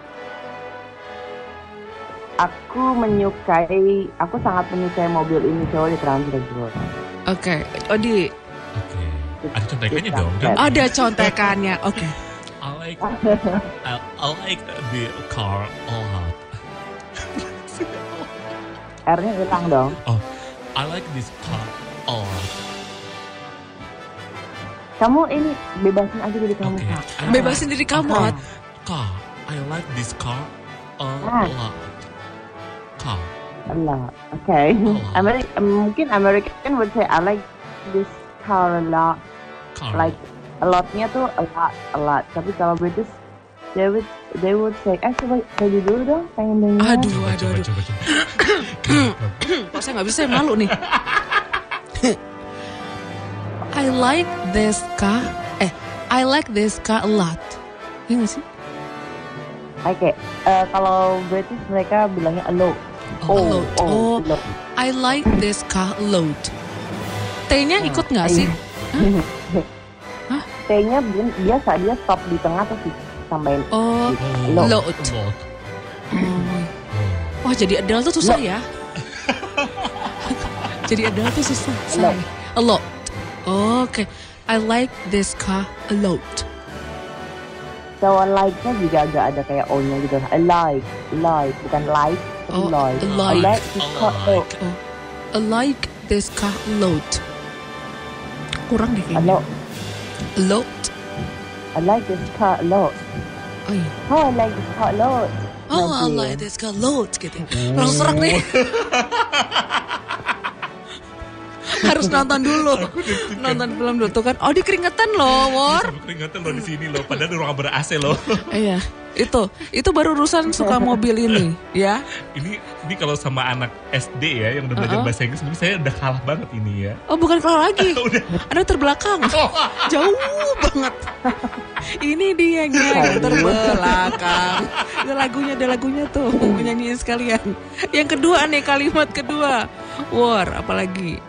Aku menyukai, aku sangat menyukai mobil ini coba di translate dulu. Oke. Odi, Oke. Ada contekannya dong. Kita- ada contekannya. Oke. I like I, I like the car a lot. R-nya hilang dong. I like this car a lot. Kamu ini bebasin aja diri kamu. Oke. Kak. I Bebasin diri kamu, Ah. Ot. Car. I like this car a Ah. lot. Car. Allah, oke. Ameri- mungkin American would say I like this car a lot. Car. Like a lot-nya tuh a lot, a lot. Tapi kalau British, they would they would say, eh coba jadi dulu dong, pengen dengar. Aduh, Coba, aduh, coba, aduh. coba, coba. Kok saya nggak bisa, saya malu nih. I like this car. Eh, I like this car a lot. Iya nggak sih? Oke, eh, kalau British mereka bilangnya a lot. Oh, a lot. oh, Oh, a lot. I like this car a lot. T-nya ikut nggak sih? Hah? T-nya bi- biasa dia stop di tengah terus ditambahin. Oh, Oh, Lot. Lot. lot. oh. Oh. Wah, jadi Adele tuh susah ya. Jadi Adele tuh susah. Lot. Say. A lot. Oke. I like this car a lot. So like-nya juga agak ada kayak O-nya gitu. I like, like, bukan like, tapi Oh, like. like. I like this I car a lot. like. Oh, I like this car a lot. Kurang deh A kayaknya. lot. A lot. I like this car a lot. Oh iya. Oh, I like this car a lot. Oh, I Nanti. like this car a lot gitu. Langsung serak nih. Harus nonton dulu. Nonton film dulu tuh kan. Oh, di keringetan loh, War. Sampai keringatan loh di sini loh. Padahal di ruangan ber-A C loh. Iya, itu. Itu baru urusan suka mobil ini, ya. Ini ini kalau sama anak S D ya yang udah belajar Uh-uh. bahasa Inggris, mungkin saya udah kalah banget ini ya. Oh, bukan kelar lagi. Udah. Ada terbelakang. Jauh banget. Ini dia yang terbelakang. Ada lagunya, ada lagunya tuh. Nyanyiin sekalian. Yang kedua nih, kalimat kedua. War, apalagi?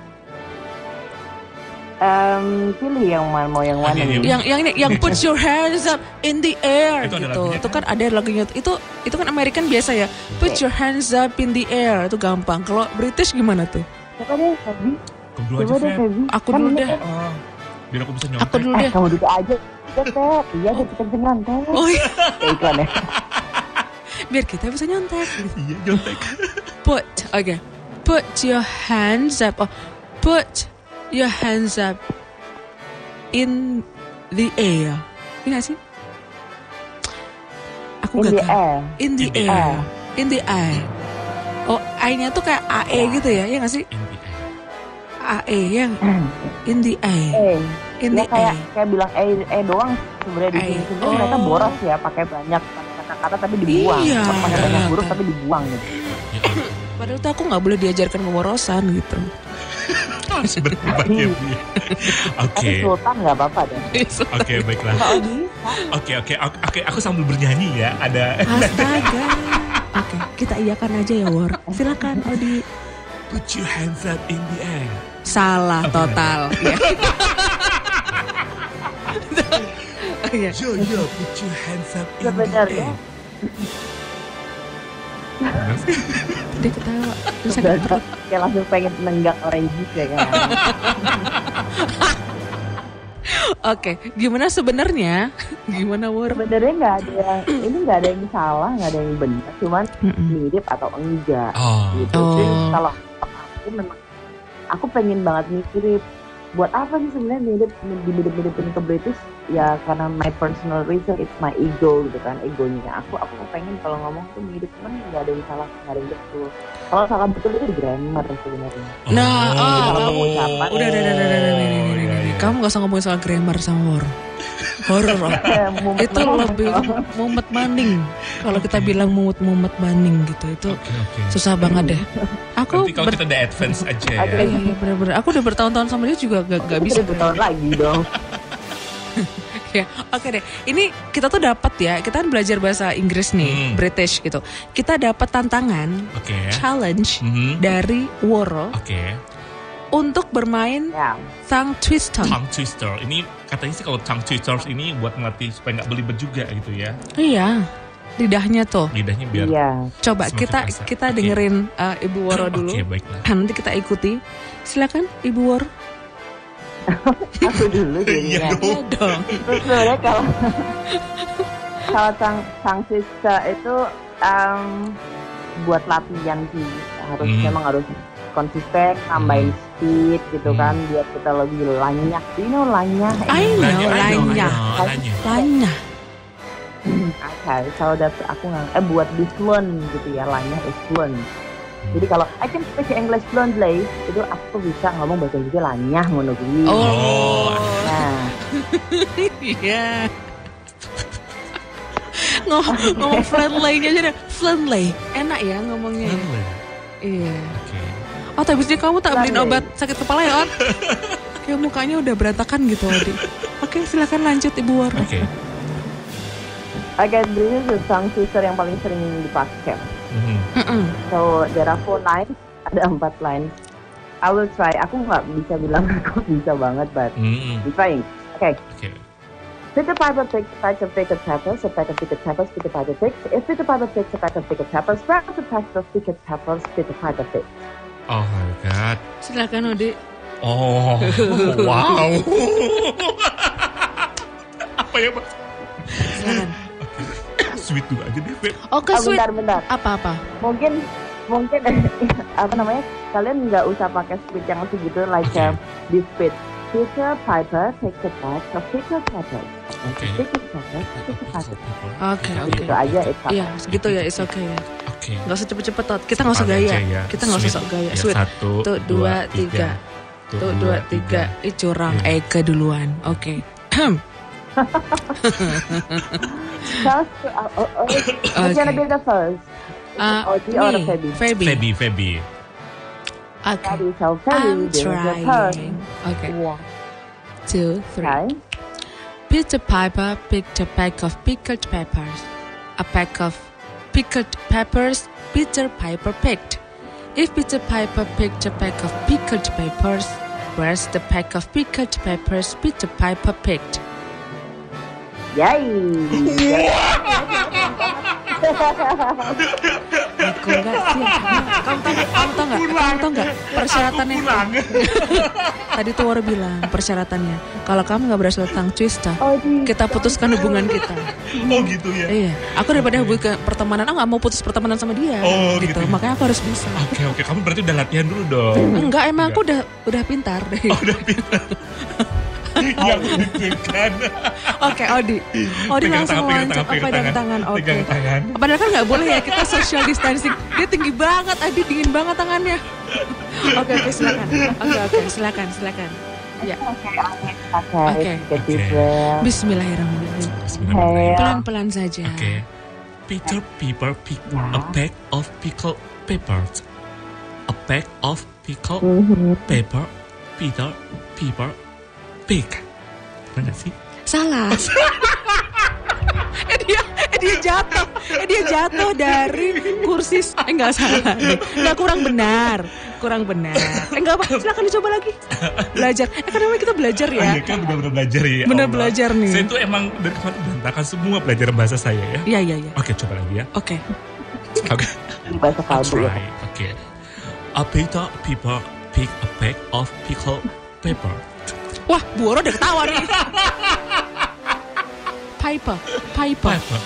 Em, pilih yang mana, mau yang mana Ah, iya, nih? iya. Yang yang ini, yang put your hands up in the air Itu ada gitu. lagunya Itu kan? kan ada lagunya. Itu itu kan American biasa ya. Put your hands up in the air. Itu gampang. Kalau British gimana tuh? Coba deh, Feby. Kedua Coba aja, deh, Feb. Feby. Aku Kan dulu ini deh. kan- Oh. biar aku bisa nyontek. Aku dulu Eh, deh. kamu duduk aja. Teh, iya deh kita bisa nyontek. Oh iya, Kayak iklan ya. biar kita bisa nyontek. Iya nyontek. Put, oke. Put your hands up. Oh, put your hands up in the air. Iya gak sih? Aku In the gagal. air. In the In the air. air. In the air. Oh, I-nya tuh kayak A E gitu ya? Iya gak sih? In the air. A E ya. In the air. Eh, In ya the kayak air. kayak bilang eh eh doang sebenarnya di Eh, sini. Sebenarnya mereka oh. boros ya, pakai banyak kata-kata tapi dibuang. Iya. Pakai banyak huruf tapi dibuang gitu. Ya, Padahal tuh aku gak boleh diajarkan pemborosan gitu. harus berdebat ya Bu. ya. Oke. Tapi sultan nggak apa-apa deh. Oke, baiklah. Kalau bisa. Oke, oke, oke, oke, aku sambil bernyanyi ya. Ada Astaga. Oke, kita iyakan aja ya, War. Silakan, Odi. put your hands up in the air. Salah total. Ya. Oh, iya. Yo, yo, put your hands up in the Sebenarnya air. Benar sih? Dia ketawa. Terus sakit sebenarnya perut. kayak langsung pengen nenggak orange ya kan. Oke, gimana sebenarnya? Gimana, War? Sebenarnya nggak ada yang ini nggak ada yang salah, nggak ada yang benar, cuman Mm-mm. mirip atau enggak Oh, gitu. Oh. Jadi kalau aku memang aku pengen banget mirip. Buat apa sih sebenarnya mirip dimirip-miripin ke British? Ya karena my personal reason, it's my ego gitu kan, egonya aku. Aku pengen kalau ngomong tuh mirip, cuman nggak ada yang salah, nggak ada yang betul. Kalau salah betul itu di grammar sebenarnya. Nah, oh, Kalau kamu pengucapan. udah, udah, udah, udah, udah, udah, udah, Oh, udah, iya, udah. iya. Kamu gak usah ngomongin soal grammar sama War. Horor. oh. Eh, mumet Itu banget. lebih mumet banding. Kalau kita bilang mumet-mumet banding gitu, itu Oke, oke. susah banget deh. Aku Nanti kalau ber- kita udah advance aja ya. Oke. Iya, iya, bener-bener. Aku udah bertahun-tahun sama dia juga gak, gak bisa. Seribu tahun lagi dong. Ya, oke deh. Ini kita tuh dapat ya. Kita kan belajar bahasa Inggris nih, Hmm. British gitu. Kita dapat tantangan, Oke. challenge Mhm. dari Woro Oke. untuk bermain Ya. tongue twister. Tongue twister. Ini katanya sih kalau tongue twisters ini buat ngelatih supaya nggak belibet juga gitu ya. Iya, lidahnya tuh. Lidahnya biar. Iya. Coba Semakin kita terasa. kita Oke. dengerin uh, Ibu Woro dulu. Oke, baiklah. Nanti kita ikuti. Silakan Ibu Woro. Aku dulu Iya jadinya. dong. Iya dong. Terus sebenarnya kalau kalau sang sang sista itu em, buat latihan sih, harus Hmm. memang harus konsisten, tambahin speed gitu Hmm. kan, biar kita lebih lanyak. You know lanyah. I know, Lanya, lanya. lanya. Lanya. Oke, so that's aku nggak. Eh buat di fluent gitu ya, lanyah is fluent. Jadi kalau I can speak English fluently, itu aku bisa ngomong bahasa Inggris lanyah ngono kuwi. Oh. Nah, Iya. ngomong ngomong friendly aja deh. Friendly. Enak ya ngomongnya. ya? Iya. Oke. Oh, tapi sih kamu tak beliin Friendly. obat sakit kepala ya, On? Kayak mukanya udah berantakan gitu, Odi. Oke, silakan lanjut Ibu Woro. Oke. agak ini tuh tongue twister yang paling sering dipakai. Mhm. Mm-mm. So there are four lines, ada empat lines. I will try. Aku nggak bisa bilang aku bisa banget, but Mhm. I'm trying. Okay. Oke. Peter Piper picked a pack of pickled peppers, a pack of pickled peppers, Peter Piper picked. If Peter Piper picks a pack of pickled peppers, where are the pack of pickled peppers Peter Piper picked? Oh my god. Silakan Odi. Oh, wow. Apa ya, Pak? Silakan. Sweet dulu aja deh, Feb. Oke, Oh, sweet. bentar, bentar. Apa-apa? Mungkin, mungkin apa namanya? Kalian nggak usah pakai speed yang segitu, like Oke. uh, this speed. Peter Piper picked a pack of pickled peppers. Oke. Pickled peppers, pickled peppers. Oke, oke. Gitu aja, it's fine. Iya, segitu ya, it's okay ya. Oke. Gak usah cepet-cepet, Tot. Kita gak usah Cepat gaya. aja ya. Kita gak usah Sweet. sok gaya. Ya, Sweet. Satu, Tuh, dua, tiga. Tuh, dua, tiga. Ih, curang. Iya. Eka duluan. Oke. First, uh, uh, uh, who's gonna be the first? Uh, Odi or me, Feby? Feby. Feby, Feby. Oke. Feby, so Feby, I'm there's the first. trying. Oke. One. Two, three. Okay. Peter Piper picked a pack of pickled peppers. A pack of pickled peppers Peter Piper picked. If Peter Piper picked a pack of pickled peppers, where's the pack of pickled peppers Peter Piper picked? Yay! Aku nggak sih. Kamu tahu nggak? Kamu tahu nggak? kamu tau nggak persyaratannya? Aku pulang. Tadi tuh Woro bilang persyaratannya, kalau kamu nggak berhasil tentang twista, Oh, di- kita putuskan hubungan kita. Oh gitu ya. Iya, aku daripada hubungan pertemanan, aku nggak mau putus pertemanan sama dia. Oh, gitu. gitu. Makanya aku harus bisa. Oke oke, kamu berarti udah latihan dulu dong. Enggak, emang aku udah udah pintar deh. Oh, udah pintar. Yang deg-degan. Oke, Odi. Odi Pegang langsung tangan, pegang loncat. tangan, Oh, pegang pegang tangan. Oke. Pegang tangan. Padahal kan nggak boleh ya kita social distancing. Dia tinggi banget, Adi dingin banget tangannya. Oke oke silakan. Oke oke silakan silakan. Ya. Oke, Oke. okay. Get deep Oke. breath. Bismillahirrahmanirrahim. Bismillahirrahmanirrahim. Pelan-pelan saja. Oke. Peter Piper picked a bag of pickled peppers. A bag of pickled Mhm. pepper. Peter Piper pick. Benar nggak sih? Salah. eh dia, eh dia jatuh, eh dia jatuh dari kursi. Eh nggak salah, nih. Nggak kurang benar, kurang benar. Eh nggak apa, silakan dicoba lagi. Belajar. Eh kan namanya kita belajar Ah, ya. iya kan benar-benar belajar ya. Benar Allah. belajar nih. Saya tuh emang dari kemarin berantakan semua pelajaran bahasa saya ya. Iya iya iya. Oke, coba lagi ya. Oke. Oke. Ini bahasa I'll kalbu ya. try. Oke. A Peter Piper pick a bag of pickled pepper. Wah, Bu Oro udah ketawa nih. Piper, Piper. Pepper.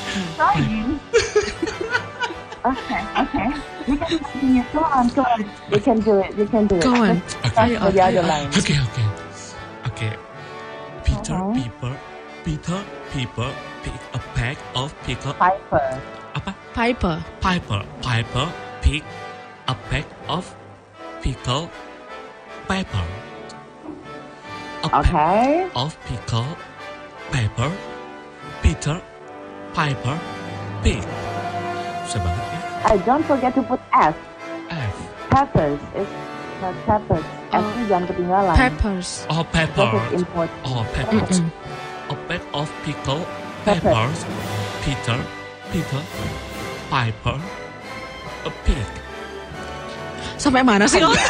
Okay, okay. You can continue. Go on, go on. You can do it. You can do it. Go on. Oke. Ayo, For the ayo, other ayo. line. Oke, oke. Oke. Peter Uh-huh. Piper Peter Piper pick a bag of pickled Piper. apa? Piper. Piper Piper pick a bag of pickled pepper. A bag Okay. of pickled pepper. Peter Piper pick. Susah banget ya. I don't forget to put S. F. Peppers is not peppers. Oh. S-nya jangan ketinggalan. Peppers. Oh, This pepper. is important. Oh, peppers. Mm-mm. A bag of pickled Pepper. peppers. Peter Peter Piper a pig. Sampai mana sih? Oh?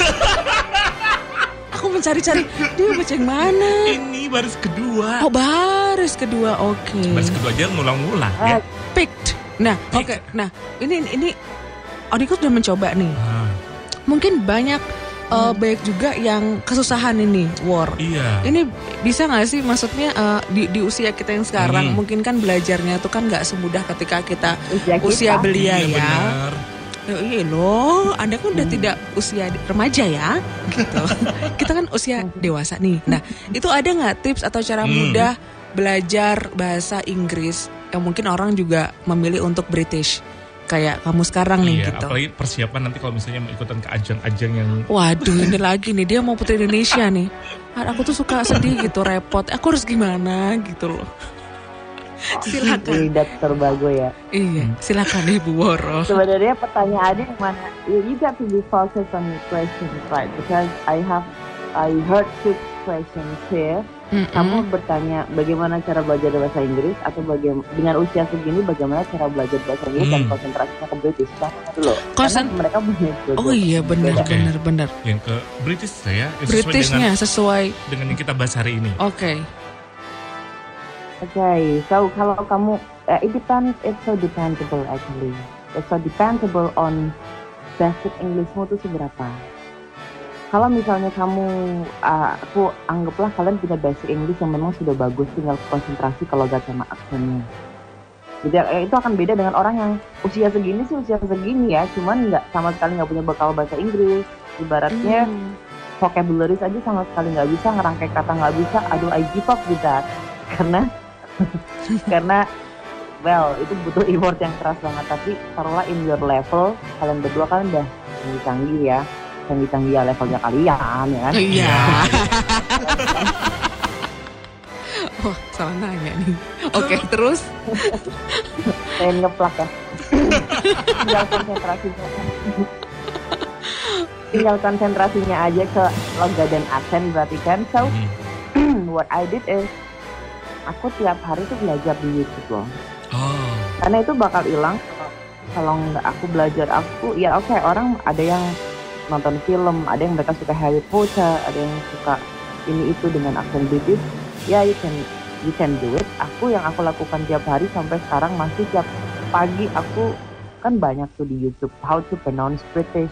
Aku mencari-cari dia baca yang mana. Ini baris kedua. Oh, baris kedua. Oke. Baris kedua aja ngulang-ngulang ya. Ah, Picked. Nah, oke. Picked. Nah, ini ini Odiko sudah mencoba nih. Ah, Mungkin banyak uh, banyak juga yang kesusahan ini, War. iya. Ini bisa nggak sih, maksudnya uh, di, di usia kita yang sekarang, Hmm. mungkin kan belajarnya tuh kan nggak semudah ketika kita usia kita. usia belia Iya, ya. benar. Oh, iya loh, Anda kan udah tidak usia remaja ya, gitu. Kita kan usia dewasa nih. Nah, itu ada nggak tips atau cara Hmm. mudah belajar bahasa Inggris yang mungkin orang juga memilih untuk British, kayak kamu sekarang nih, Iya, gitu. apalagi persiapan nanti kalau misalnya mau ikutan ke ajang-ajang yang Waduh, ini lagi nih dia mau putri Indonesia nih. Aku tuh suka sedih gitu, repot. Aku harus gimana gitu loh. Silakan. Lidat terbago ya. Iya, silakan Ibu Woro. Sebenarnya pertanyaannya yang mana? You, you got to be focused on your questions, right? Because I have, I heard two questions here. Mm-mm. Kamu bertanya bagaimana cara belajar bahasa Inggris atau bagaimana dengan usia segini bagaimana cara belajar bahasa Inggris dan Hmm. konsentrasinya ke British. Sama dulu. Konsen- Karena mereka punya dua- Oh iya, benar Oke. benar benar. yang ke British saya yang sesuai Britishnya dengan, sesuai. dengan yang kita bahas hari ini. Oke. Okay, so kalau kamu, uh, it depends, it's so dependable actually. It's so dependable on basic Englishmu tuh seberapa. Kalau misalnya kamu, uh, aku anggaplah kalian punya basic English yang memang sudah bagus, tinggal konsentrasi kalau gak sama aksennya. Jadi eh, itu akan beda dengan orang yang usia segini sih usia segini ya, cuman nggak sama sekali nggak punya bekal bahasa Inggris. Ibaratnya Hmm. vocabulary aja sama sekali nggak bisa, ngerangkai kata nggak bisa. Aduh, I give up with that. Karena karena well itu butuh effort yang keras banget. Tapi taruhlah in your level, kalian berdua kan udah canggih-canggih ya, canggih-canggih ya levelnya kalian ya. Iya. Wah, salah nanya nih. Oke, terus Pengen ngeplak ya. Tinggal konsentrasinya. Tinggal konsentrasinya aja ke logat dan aksen berarti kan. So Hmm. what I did is aku tiap hari tuh belajar di YouTube loh. Oh, Karena itu bakal hilang kalau- kalau nggak aku belajar. Aku ya oke, orang ada yang nonton film, ada yang mereka suka Harry Potter, ada yang suka ini itu dengan aksen British. Ya, you can you can do it. Aku yang aku lakukan tiap hari sampai sekarang masih tiap pagi aku kan banyak tuh di YouTube how to pronounce British,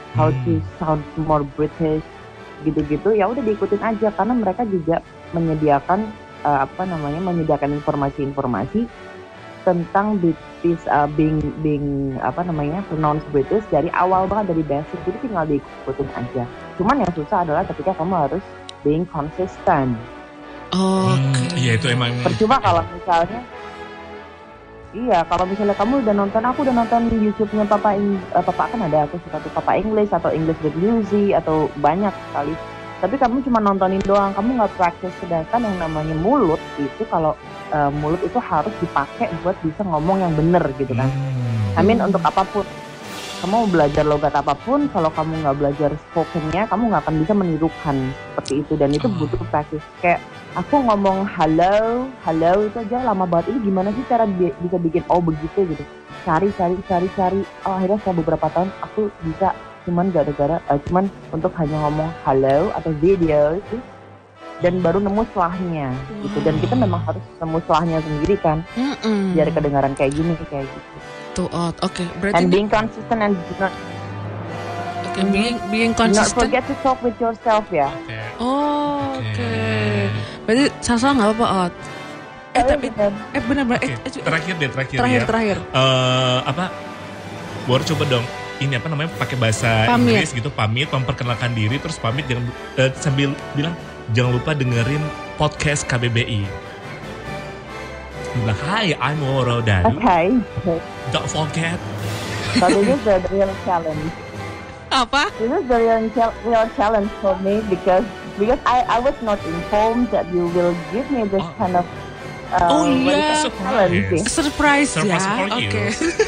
how Hmm. to sound more British, gitu-gitu. Ya udah diikutin aja karena mereka juga menyediakan uh, apa namanya menyediakan informasi-informasi tentang British uh, being being apa namanya pronounce British dari awal banget, dari basic. Jadi tinggal diikutin aja. Cuman yang susah adalah ketika kamu harus being consistent. Oke. Hmm, iya itu emang. Percuma kalau misalnya Iya, kalau misalnya kamu udah nonton, aku udah nonton YouTube-nya Papa Eng- uh, Papa kan ada, aku suka tuh Papa English atau English with Lucy atau banyak sekali. Tapi kamu cuma nontonin doang, kamu nggak praktis. Sedangkan yang namanya mulut itu kalau uh, mulut itu harus dipakai buat bisa ngomong yang bener gitu kan. Hmm. I mean untuk apapun. Kamu mau belajar logat apapun, kalau kamu nggak belajar spokennya, kamu nggak akan bisa menirukan seperti itu. Dan itu Oh. butuh praktis. Kayak aku ngomong halo, halo itu aja lama banget. Ini gimana sih cara bi- bisa bikin oh begitu gitu. Cari, cari, cari, cari. Oh akhirnya setelah beberapa tahun aku bisa cuman gara-gara, uh, cuman untuk hanya ngomong halo atau video itu. Dan baru nemu selahnya gitu. Dan kita memang harus nemu selahnya sendiri kan. Mm-mm. Biar kedengaran kayak gini, kayak gitu. Tuh, Ot. Oke, berarti And ini- being consistent and do not, oke, being being do not consistent. forget to talk with yourself ya. Oke. Oh, Oke. oke. Berarti Sasa nggak apa-apa, Ot. Eh, tapi eh benar-benar eh, Oke, eh, terakhir deh, terakhir, terakhir ya. terakhir. Eh, apa? Bor coba dong. Ini apa namanya? Pakai bahasa Pamit. Inggris gitu, pamit, memperkenalkan diri, terus pamit jangan eh, sambil bilang jangan lupa dengerin podcast K B B I. Bilang, hi, I'm Woro Daru. Okay. Don't forget. But this is the real challenge. Apa? This is the real, chal- real challenge for me because because I, I was not informed that you will give me this Oh. kind of uh, Oh, what is iya. that? challenge. Surprise. Surprise, Surprise ya. for you. Oke.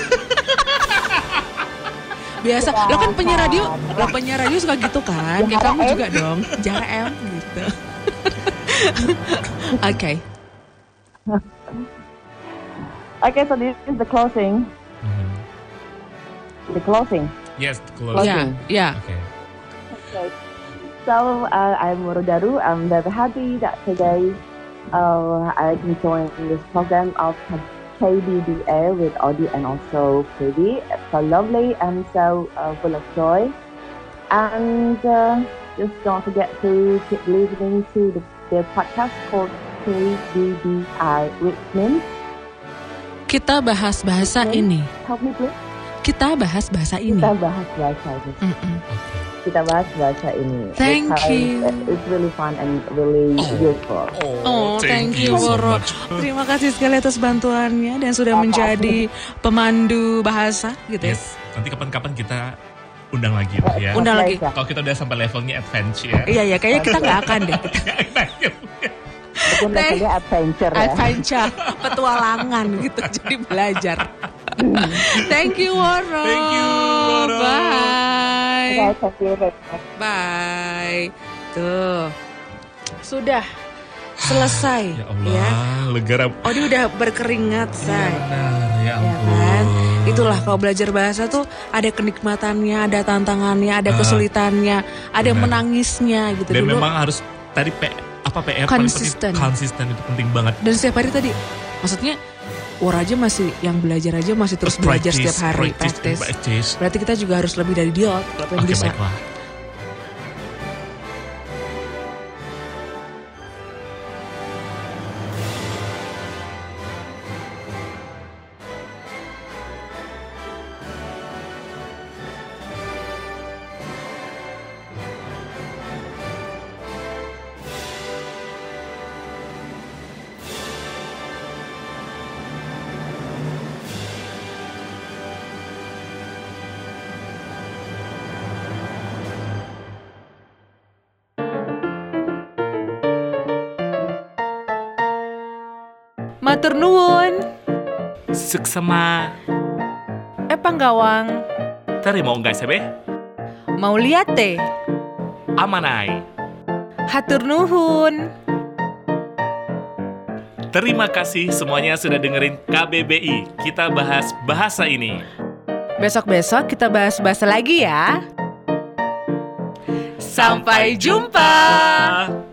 Biasa, lo kan penyiar radio, lo penyiar radio suka gitu kan? Kayak kamu juga dong, Jara M gitu. Oke. Okay, so this is the closing. Mhm. The closing. Yes, close. Ya, ya. Oke. Okay. So uh, I'm Woro Daru. I'm very happy that today uh, I can join this program of K B B A with Audie and also Phoebe. It's so lovely and so uh, full of joy. And uh, just don't forget to keep listening to the, the podcast called K B B I, which means Kita bahas bahasa Oke. ini. help me please. Kita bahas bahasa ini. Kita bahas bahasa ini. Mm-mm. Kita bahas bahasa ini. Thank Because you. It's really fun and really useful. Oh, thank you, so Woro. much. Terima kasih sekali atas bantuannya dan sudah menjadi pemandu bahasa gitu ya. Yes, nanti kapan-kapan kita undang lagi lah ya. Undang lagi. Pleasure. Kalau kita udah sampai levelnya adventure ya. Iya, iya, kayaknya kita nggak akan deh. Mungkin Thank- levelnya adventure ya. Adventure, petualangan gitu, jadi belajar. Thank you, Woro. Thank you, Woro. Bye. Okay, thank you very much. Bye. Tuh, sudah selesai Ya Allah, lega. Oh, dia udah berkeringat, Iya say. benar, ya Ya ampun. kan? Itulah kalau belajar bahasa tuh ada kenikmatannya, ada tantangannya, ada Ah. kesulitannya, ada Benar. menangisnya gitu. Dan Dulu memang harus tadi P, apa P R paling Konsisten. penting, konsisten itu penting banget. dan setiap hari tadi, maksudnya Wor aja masih yang belajar aja masih terus belajar Practice, setiap hari, practice, praktis. practice. Berarti kita juga harus lebih dari dia, kalau pengen Oke, bisa. baiklah. Matur nuwun. Suksema. Eh panggawang, Terima enggak sebe? mau lihat teh? Amanai. Hatur nuhun. Terima kasih semuanya sudah dengerin K B B I. Kita bahas bahasa ini. Besok-besok kita bahas bahasa lagi ya. Sampai jumpa.